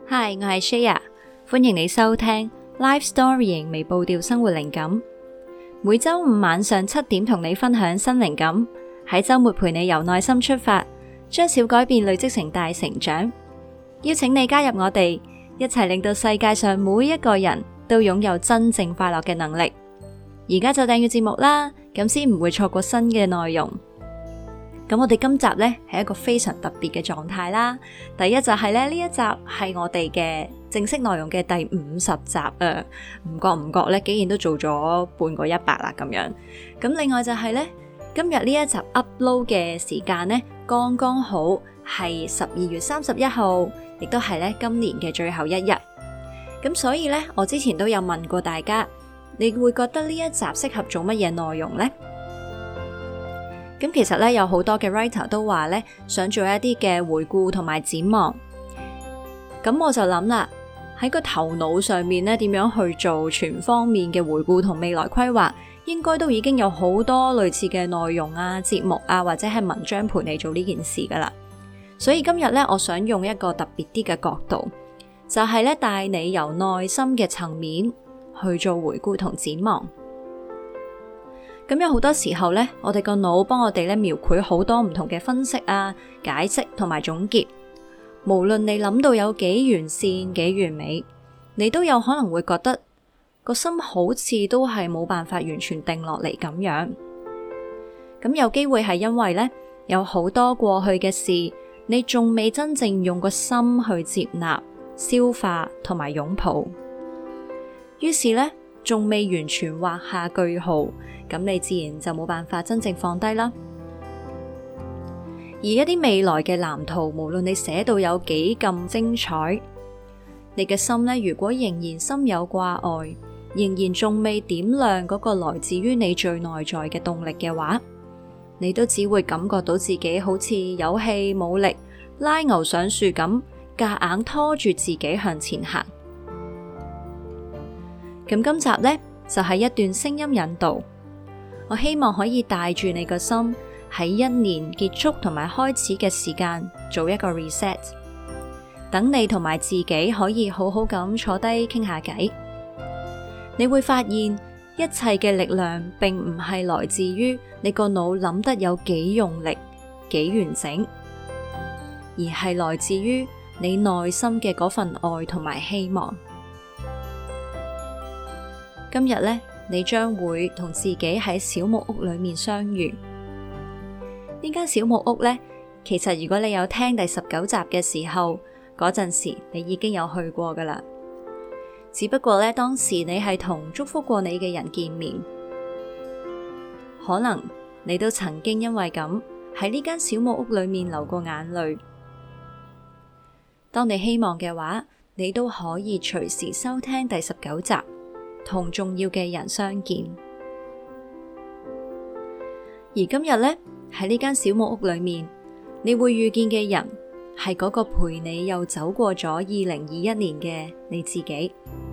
Hi， 我係 Shaya， 歡迎你收聽 Life Storying 微步調生活靈感。每周五晚上7點同你分享新靈感，喺周末陪你由內心出發，將小改變累積成大成長。邀請你加入我哋，一齊令到世界上每一個人都擁有真正快樂嘅能力。而家就訂閱節目啦，咁先唔會錯過新嘅內容。咁我哋今集呢係一個非常特別嘅狀態啦。第一就係呢一集係我哋嘅正式內容嘅第50集啊，唔覺呢竟然都做咗半個100啦咁樣。咁另外就係呢，今日呢一集 upload 嘅時間呢，剛剛好係12月31號，亦都係呢今年嘅最後一日。咁所以呢，我之前都有問過大家，你會覺得呢一集適合做乜嘢內容呢？咁其實咧，有好多嘅 writer 都話咧，想做一啲嘅回顧同埋展望。咁我就諗啦，喺個頭腦上面咧，點樣去做全方面嘅回顧同未來規劃，應該都已經有好多類似嘅內容啊、節目啊，或者係文章陪你做呢件事噶啦。所以今日咧，我想用一個特別啲嘅角度，就係咧，帶你由內心嘅層面去做回顧同展望。咁有好多時候呢，我哋個腦幫我哋咧描繪好多唔同嘅分析啊、解釋同埋總結。無論你諗到有幾完善、幾完美，你都有可能會覺得個心好似都係冇辦法完全定落嚟咁樣。咁有機會係因為呢，有好多過去嘅事，你仲未真正用個心去接納、消化同埋擁抱，於是呢，仲未完全畫下句號。咁你自然就冇辦法真正放低啦。而一啲未來嘅藍圖，無論你寫到有幾咁精彩，你嘅心呢，如果仍然心有掛礙，仍然仲未點亮嗰個來自於你最內在嘅動力嘅話，你都只會感覺到自己好似有氣冇力，拉牛上樹咁，夾硬拖住自己向前行。咁今集呢，就係一段聲音引導。我希望可以帶住你個心喺一年結束同埋開始嘅時間做一個 reset， 等你同埋自己可以好好咁坐低傾下偈。你會發現一切嘅力量並唔係來自於你個腦諗得有幾用力、幾完整，而係來自於你內心嘅嗰份愛同埋希望。今日呢，你將會同自己喺小木屋裏面相遇。呢間小木屋呢，其實如果你有聽第19集嘅時候，嗰陣時你已經有去過噶啦。只不過呢，當時你係同祝福過你嘅人見面，可能你都曾經因為咁喺呢間小木屋裏面流過眼淚。當你希望嘅話，你都可以隨時收聽第19集。同重要嘅人相見，而今日呢，喺呢間小木屋裏面，你會遇見嘅人係嗰個陪你又走過咗2021年嘅你自己。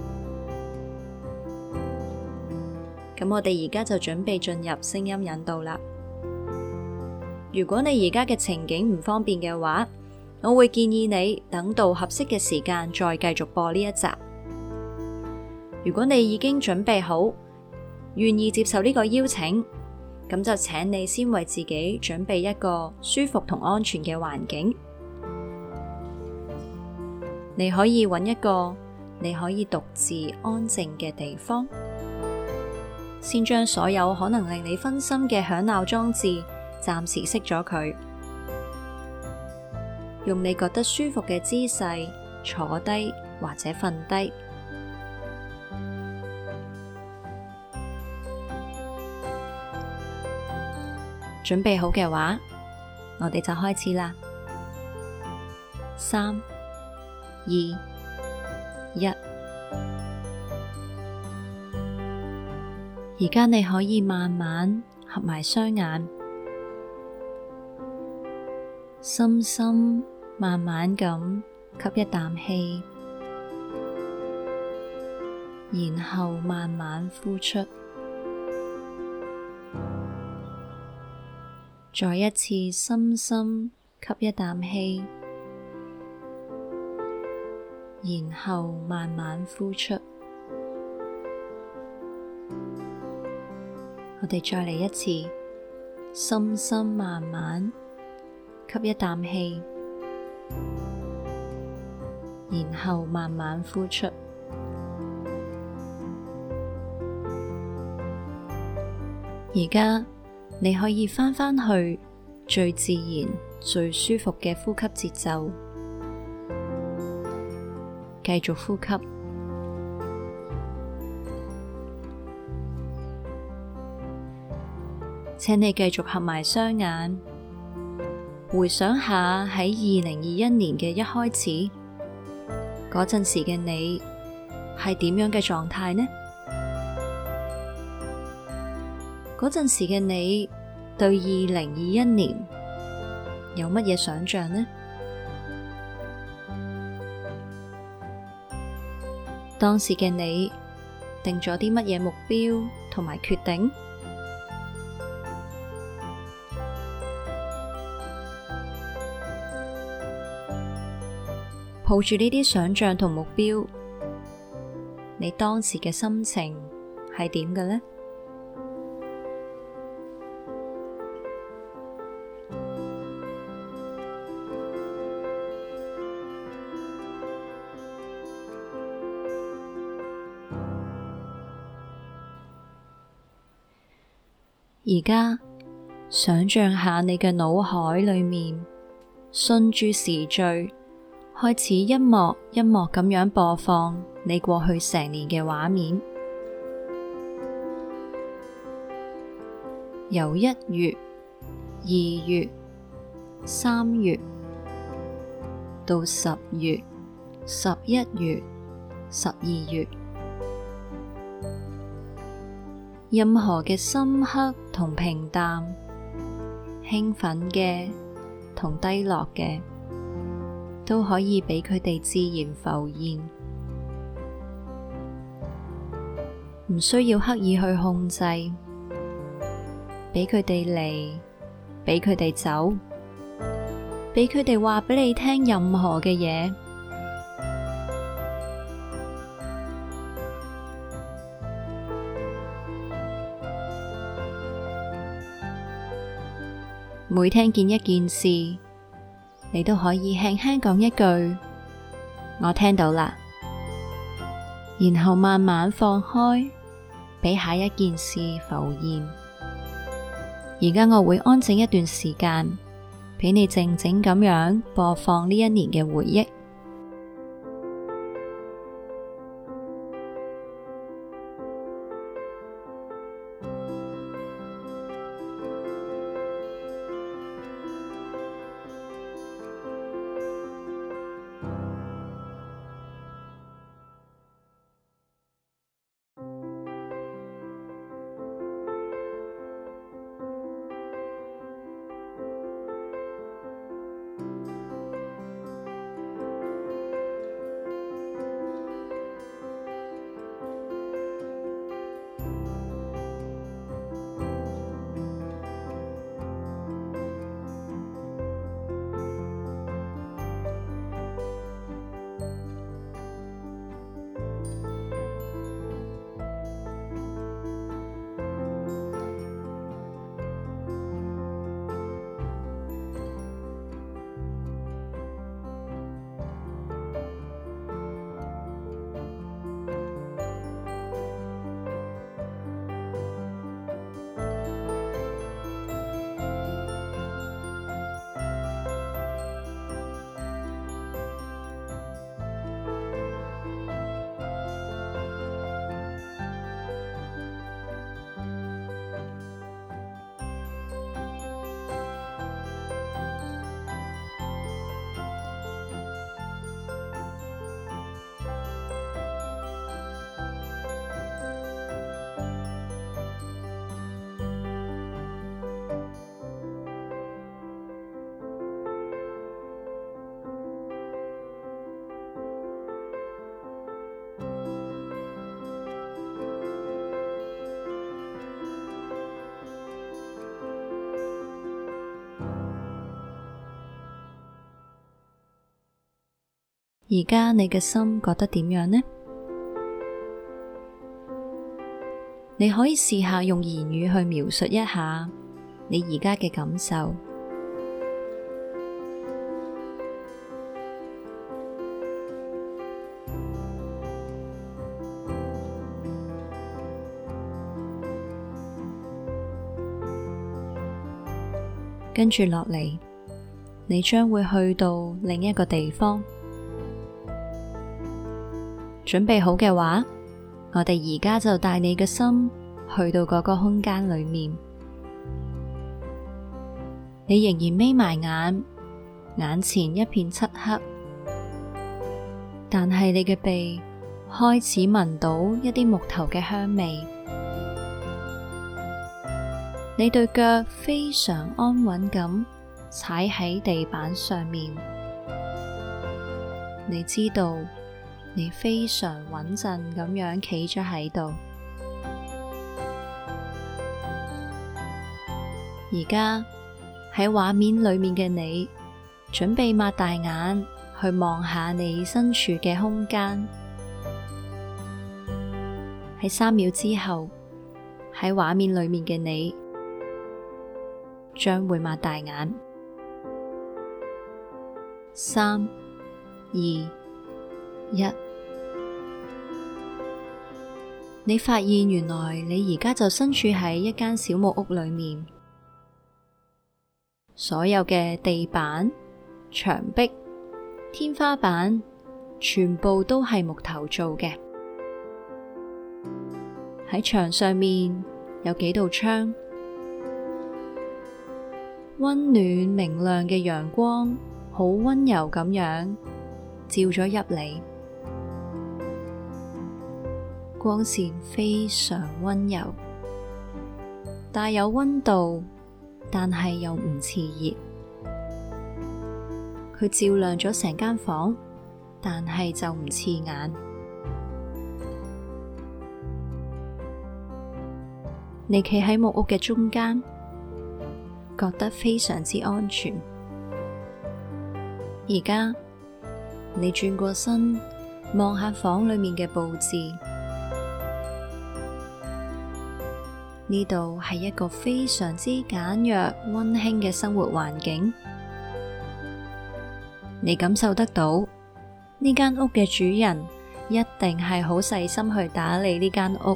咁我哋而家就準備進入聲音引導啦。如果你而家嘅情景唔方便嘅話，我會建議你等到合適嘅時間再繼續播呢一集。如果你已經準備好，願意接受呢個邀請，咁就請你先為自己準備一個舒服同安全嘅環境。你可以揾一個你可以獨自安靜嘅地方，先將所有可能令你分心嘅響鬧裝置暫時熄咗佢，用你覺得舒服嘅姿勢坐低或者瞓低。準備好嘅話，我哋就開始啦。3、2、1。而家你可以慢慢合埋雙眼，深深慢慢咁吸一啖氣，然後慢慢呼出。再一次深深吸一啖氣， 然後慢慢呼出。我哋再嚟一次，深深慢慢吸一啖氣，然後慢慢呼出。而家你可以返去最自然、最舒服嘅呼吸節奏，繼續呼吸。請你繼續合埋雙眼，回想下喺2021年嘅一開始嗰陣時嘅你係點樣嘅狀態呢？嗰陣時嘅你對2021年有乜嘢想象呢？當時嘅你定咗啲乜嘢目標同埋決定？抱住呢啲想象同目標，你當時嘅心情係點嘅呢？而家想象下你嘅腦海裏面，順住時序，開始一幕一幕咁樣播放你過去成年嘅畫面，由1月、2月、3月到10月、11月、12月，任何嘅深刻同平淡，興奮嘅同低落嘅，都可以俾佢哋自然浮現，唔需要刻意去控制，俾佢哋嚟，俾佢哋走，俾佢哋話俾你聽任何嘅嘢。每聽見一件事，你都可以輕輕講一句，我聽到啦，然後慢慢放開，俾下一件事浮現。而家我會安靜一段時間，俾你靜靜咁樣播放呢一年嘅回憶。 而家你嘅心覺得點樣呢？你可以試下用言語去描述一下你而家嘅感受。跟住落嚟，你將會去到另一個地方。準備好嘅話，我哋而家就帶你嘅心去到嗰個空間裏面。你仍然眯埋眼，眼前一片漆黑，但係你嘅鼻開始聞到一啲木頭嘅香味。你對腳非常安穩咁踩喺地板上面，你知道你非常穩陣咁樣企咗喺度。而家喺畫面裏面嘅你，準備擘大眼去望下你身處嘅空間。喺3秒之後，喺畫面裏面嘅你將會擘大眼。3、2、1，你發現原來你而家就身處喺一間小木屋裏面，所有嘅地板、牆壁、天花板全部都係木頭做嘅。喺牆上面有幾道窗，溫暖明亮嘅陽光好溫柔咁樣照咗入嚟，光線非常溫柔，帶有溫度，但係又唔熾熱。佢照亮咗成間房，但係就唔刺眼。你企喺木屋嘅中間，覺得非常之安全。而家你轉過身望下房裏面嘅佈置，呢度係一個非常之簡約溫馨嘅生活環境。你感受得到呢間屋嘅主人一定係好細心去打理呢間屋。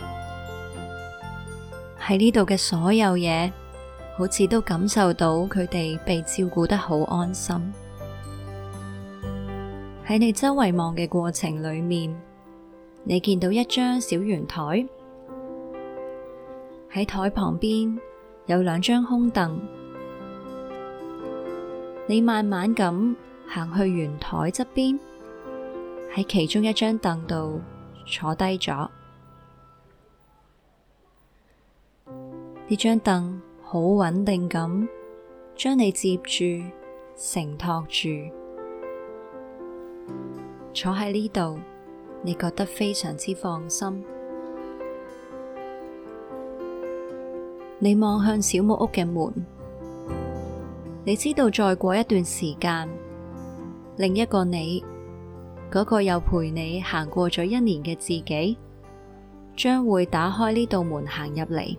喺呢度嘅所有嘢，好似都感受到佢哋被照顧得好安心。喺你周圍望嘅過程裏面，你見到一張小圓台，喺台旁邊有2張空凳。你慢慢咁行去圓台側邊，喺其中一張凳度坐低咗。呢張凳好穩定咁將你接住、承托住。坐喺呢度，你覺得非常之放心。你望向小木屋嘅門，你知道再過一段時間，另一個你，嗰個又陪你行過咗1年嘅自己，將會打開呢道門行入嚟。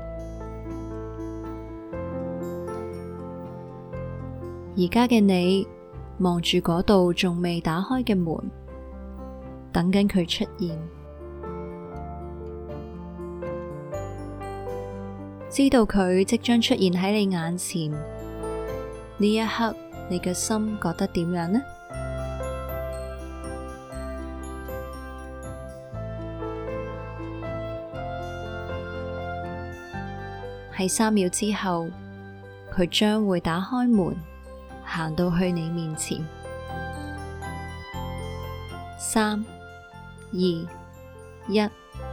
而家嘅你望住嗰道仲未打開嘅門，等緊佢出現。知道佢即將出現喺你眼前，呢一刻你嘅心覺得點樣呢？喺3秒之後，佢將會打開門，行到去你面前。3、2、1，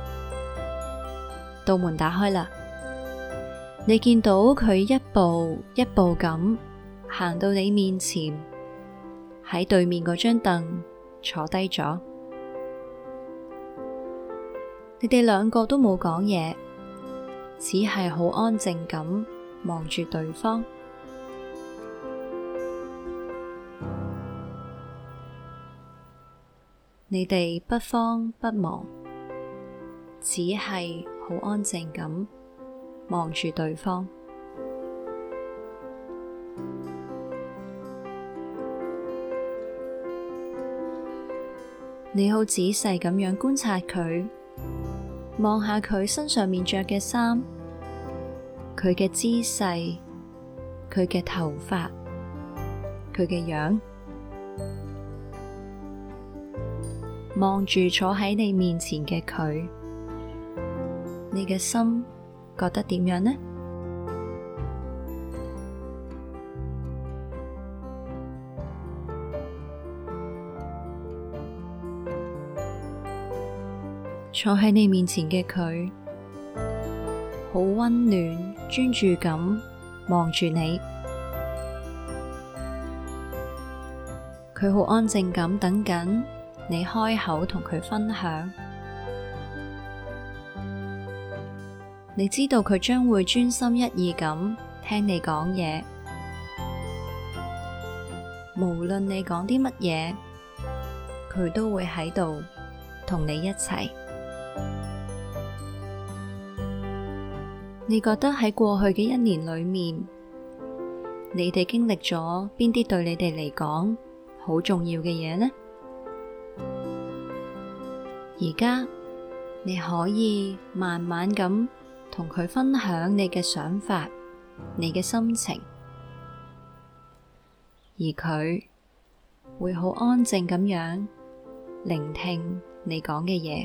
道門打開啦！你見到佢一步一步咁行到你面前，喺對面嗰張凳坐低咗。你哋2個都冇講嘢，只係好安靜咁望住對方。「」」」」」」」「」」「」」「」」「」「」「」「」「」「」「」「」「」「」「」「」「」「」「」「」「」「」「」「」「」「」「」「」「」「」「」「」「」「」「」「」「」「」「」「」「」「」「」「」「」「」「」「」「」「」「」「」「」「」「」「」「」「」「」「」「」「」「」「」「」「」「」「」「」「」「」「」 你哋不慌不忙，只係好安靜咁望住對方。你好仔細咁樣觀察佢，望下佢身上面着嘅衫，佢嘅姿勢，佢嘅頭髮，佢嘅樣，望住坐喺你面前嘅佢，你嘅心覺得點樣呢？坐喺你面前嘅佢，好溫暖，專注咁望住你。佢好安靜咁等緊你開口同佢分享。你知道佢將會專心一意咁聽你講嘢，無論你講啲乜嘢，佢都會喺度同你一齊。你覺得喺過去嘅1年裏面，你哋經歷咗邊啲對你哋嚟講好重要嘅嘢呢？而家你可以慢慢咁同佢分享你嘅想法，你嘅心情，而佢會好安靜咁樣聆聽你講嘅嘢。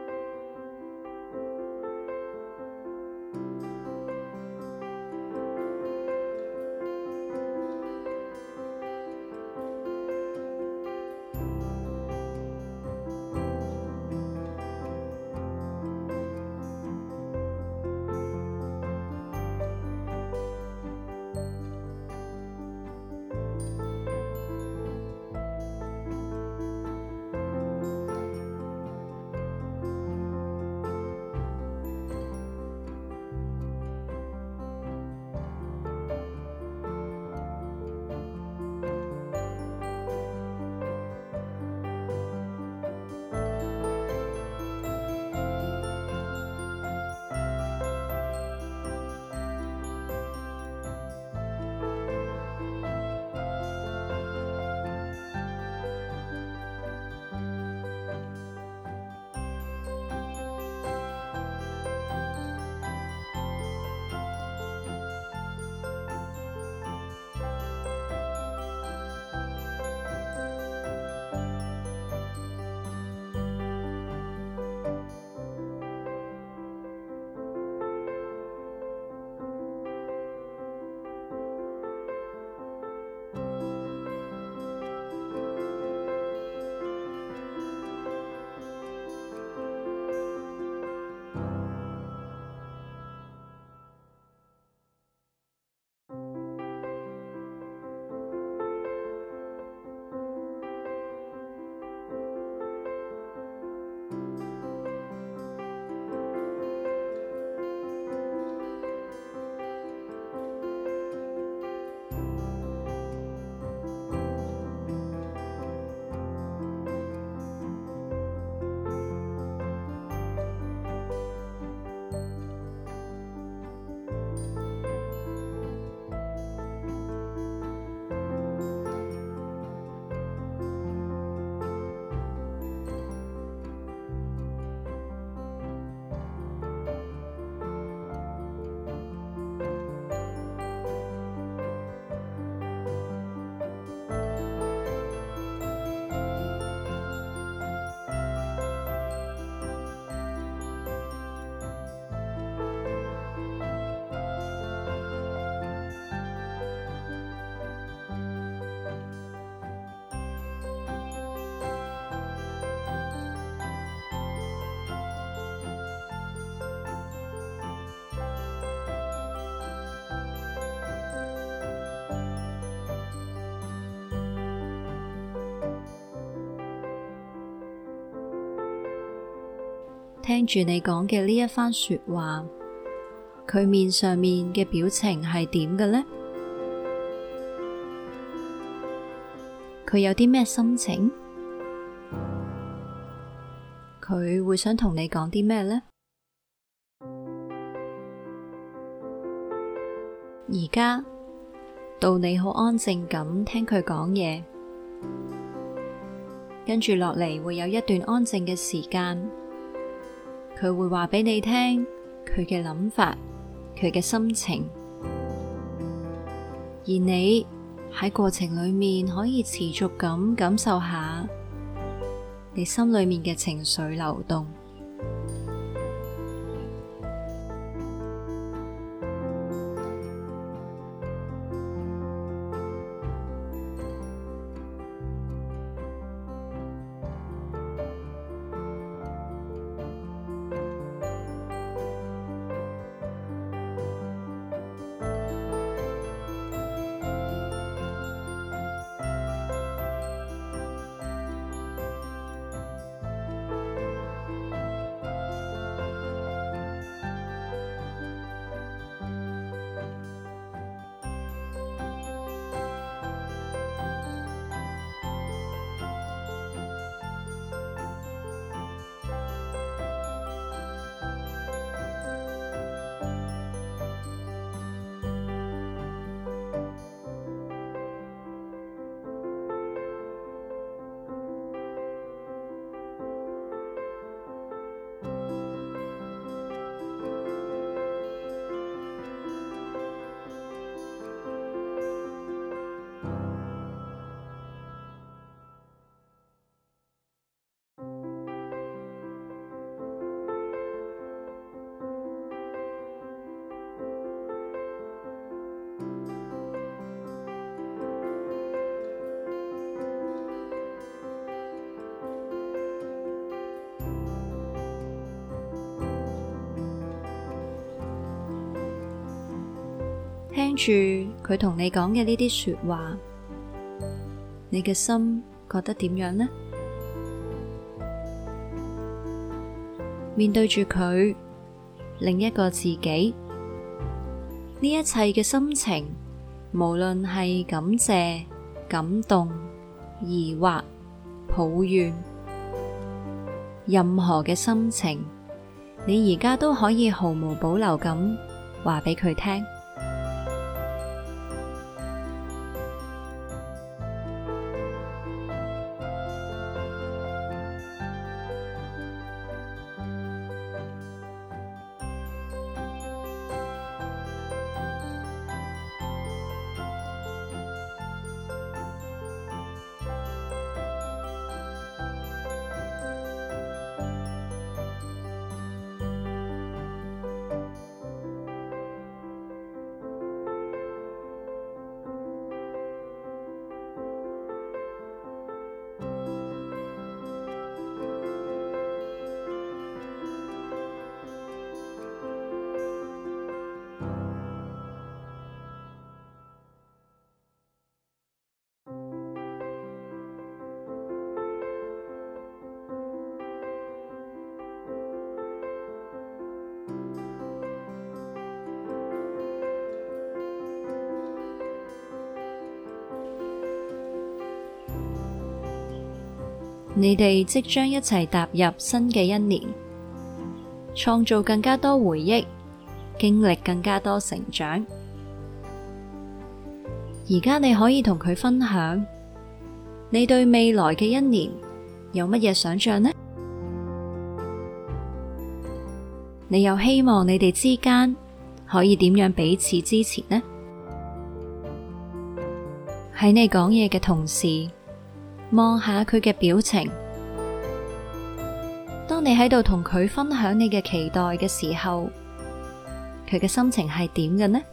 聽住你講嘅呢一番說話，佢面上面嘅表情係點嘅呢？佢有啲咩心情？ 佢會想同你講啲咩呢？而家到你好安靜咁聽佢講嘢，跟住落嚟會有一段安靜嘅時間，佢會話俾你聽佢嘅諗法，佢嘅心情，而你喺過程裏面可以持續咁感受下你心裏面嘅情緒流動。聽住佢同你講嘅呢啲說話，你嘅心覺得點樣呢？面對住佢，另一個自己，呢一切嘅心情，無論係感謝、感動、疑惑、抱怨，任何嘅心情，你而家都可以毫無保留咁話俾佢聽。你哋即將一齊踏入新嘅一年，創造更加多回憶，經歷更加多成長。而家你可以同佢分享，你對未來嘅一年有乜嘢想象呢？你又希望你哋之間可以點樣彼此支持呢？喺你講嘢嘅同時，望下佢嘅表情。當你喺度同佢分享你嘅期待嘅時候，佢嘅心情係點嘅呢？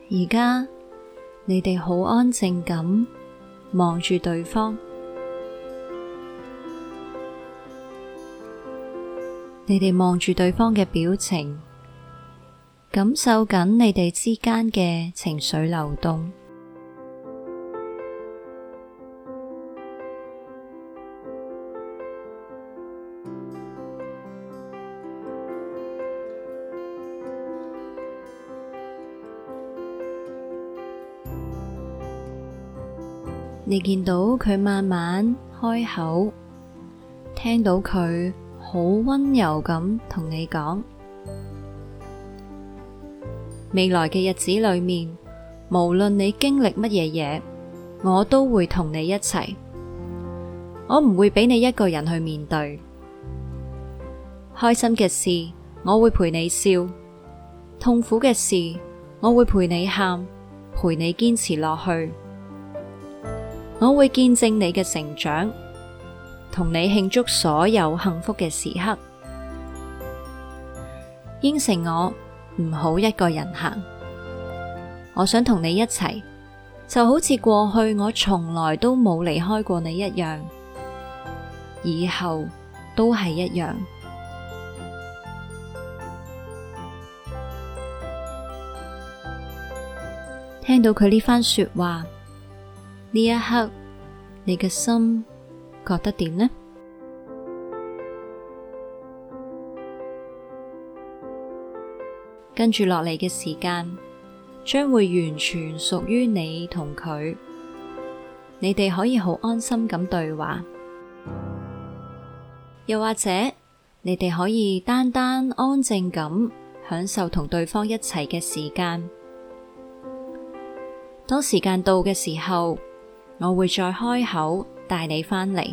而家你哋好安靜咁望住對方，你哋望住對方嘅表情，感受緊你哋之間嘅情緒流動。你見到佢慢慢開口，聽到佢好溫柔咁同你講，未來嘅日子裏面，無論你經歷乜嘢嘢，我都會同你一齊。我唔會俾你一個人去面對。開心嘅事，我會陪你笑；痛苦嘅事，我會陪你喊，陪你堅持落去。我會見證你嘅成長，同你慶祝所有幸福嘅時刻。應承我，唔好一個人行。我想同你一齊，就好似過去我從來都冇離開過你一樣，以後都係一樣。聽到佢呢番說話，呢一刻，你嘅心覺得點呢？跟住落嚟嘅時間，將會完全屬於你同佢，你哋可以好安心咁對話，又或者你哋可以單單安靜咁享受同對方一齊嘅時間。當時間到嘅時候，我會再開口帶你返嚟。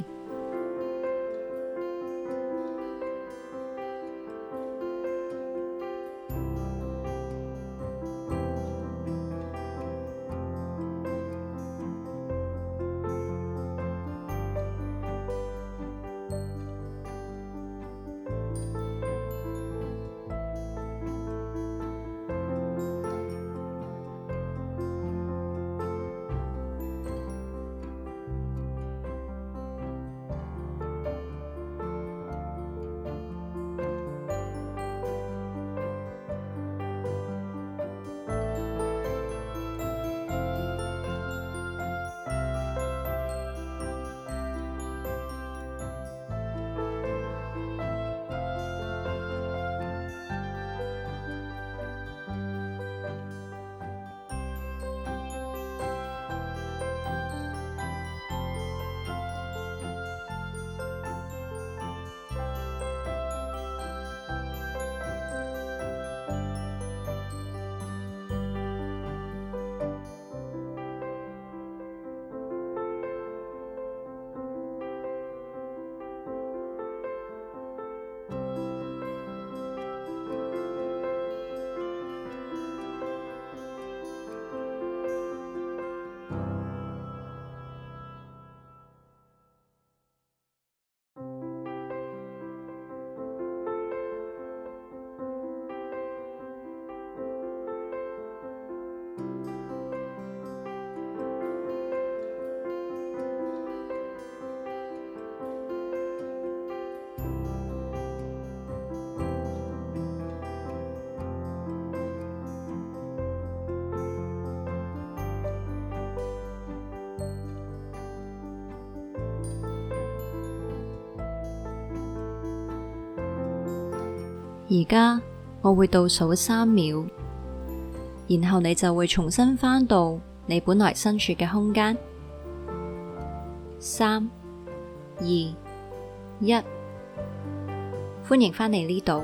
而家我會倒數3秒，然後你就會重新返到你本來身處嘅空間。3、2、1，歡迎返嚟呢度。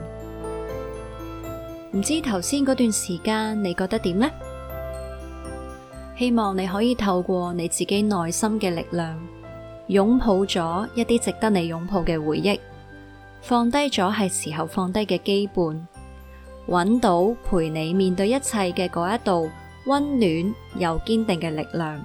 唔知頭先嗰段時間你覺得點呢？希望你可以透過你自己內心嘅力量，擁抱咗一啲值得你擁抱嘅回憶，放低咗係時候放低嘅羈絆，揾到陪你面對一切嘅嗰一道溫暖又堅定嘅力量。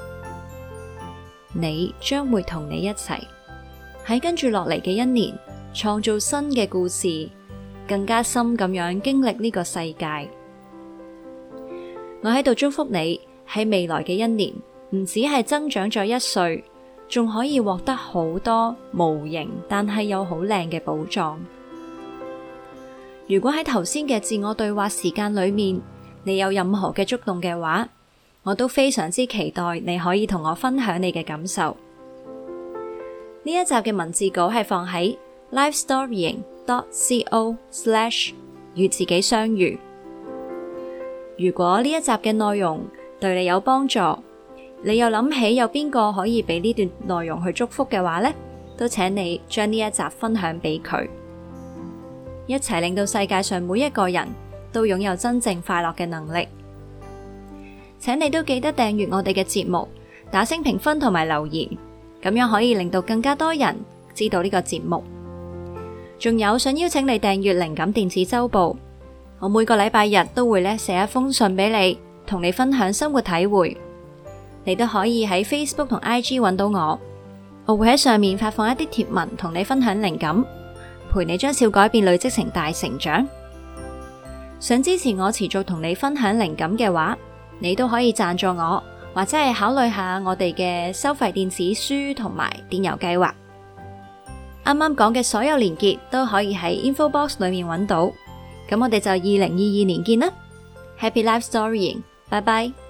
你將會同你一齊喺跟住落嚟嘅1年，創造新嘅故事，更加深咁樣經歷呢個世界。 我喺度祝福你喺未來嘅一年，唔止係增長咗1歲，仲可以獲得好多無形但係又好靚嘅寶藏。如果喺頭先嘅自我對話時間裏面，你有任何嘅觸動嘅話，我都非常之期待你可以同我分享你嘅感受。呢一集嘅文字稿係放喺 lifestorying.co/ 與自己相遇。如果呢一集嘅內容對你有幫助，你又諗起有邊個可以俾呢段內容去祝福嘅話呢，都請你將呢一集分享俾佢，一齊令到世界上每一個人都擁有真正快樂嘅能力。請你都記得訂閱我哋嘅節目，打星評分同埋留言，咁樣可以令到更加多人知道呢個節目。仲有想邀請你訂閱靈感電子週報，我每個禮拜日都會寫一封信俾你，同你分享生活體會。你都可以喺 Facebook 同 IG 揾到我，我會喺上面發放一啲貼文，同你分享靈感，陪你將小改變累積成大成長。想支持我持續同你分享靈感嘅話，你都可以贊助我，或者係考慮下我哋嘅收費電子書同埋電郵計劃。啱啱講嘅所有連結都可以喺 info box 裏面揾到。咁我哋就2022年見啦，Happy Life Storying，拜拜。